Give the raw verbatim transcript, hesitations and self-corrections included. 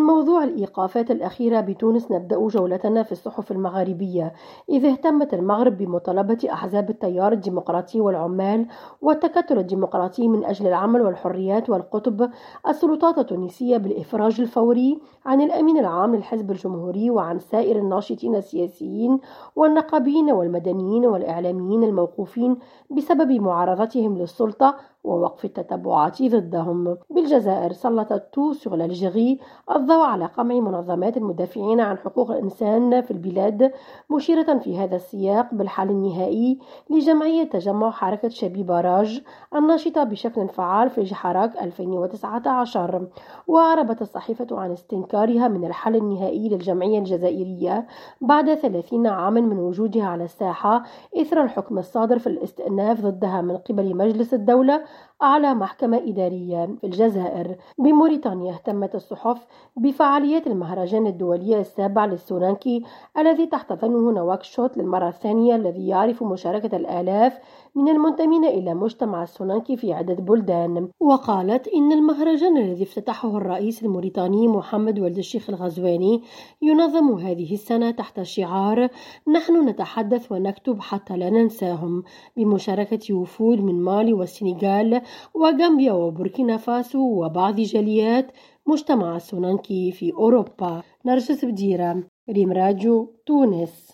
موضوع الإيقافات الأخيرة بتونس نبدأ جولتنا في الصحف المغاربية، إذ اهتمت المغرب بمطالبة أحزاب التيار الديمقراطي والعمال والتكتل الديمقراطي من أجل العمل والحريات والقطب السلطات التونسية بالإفراج الفوري عن الأمين العام للحزب الجمهوري وعن سائر الناشطين السياسيين والنقابيين والمدنيين والإعلاميين الموقوفين بسبب معارضتهم للسلطة ووقف التتبعات ضدهم. بالجزائر سلطت تو سور l'Algérie الضوء على قمع منظمات المدافعين عن حقوق الإنسان في البلاد، مشيرة في هذا السياق بالحل النهائي لجمعية تجمع حركة شبيبة راج الناشطة بشكل فعال في جحراك ألفين وتسعة عشر. وأعربت الصحيفة عن استنكارها من الحل النهائي للجمعية الجزائرية بعد ثلاثين عاما من وجودها على الساحة إثر الحكم الصادر في الاستئناف ضدها من قبل مجلس الدولة أعلى محكمة إدارية في الجزائر. بموريتانيا اهتمت الصحف بفعاليات المهرجان الدولي السابع للسونانكي الذي تحتضنه نواكشوط للمرة الثانية، الذي يعرف مشاركة الآلاف من المنتمين إلى مجتمع السونانكي في عدة بلدان. وقالت إن المهرجان الذي افتتحه الرئيس الموريتاني محمد ولد الشيخ الغزواني ينظم هذه السنة تحت شعار نحن نتحدث ونكتب حتى لا ننساهم، بمشاركة وفود من مالي والسنغال وغامبيا وبوركينا فاسو وبعض جاليات مجتمع السونانكي في أوروبا. نرجس بديرة، ريم راديو، تونس.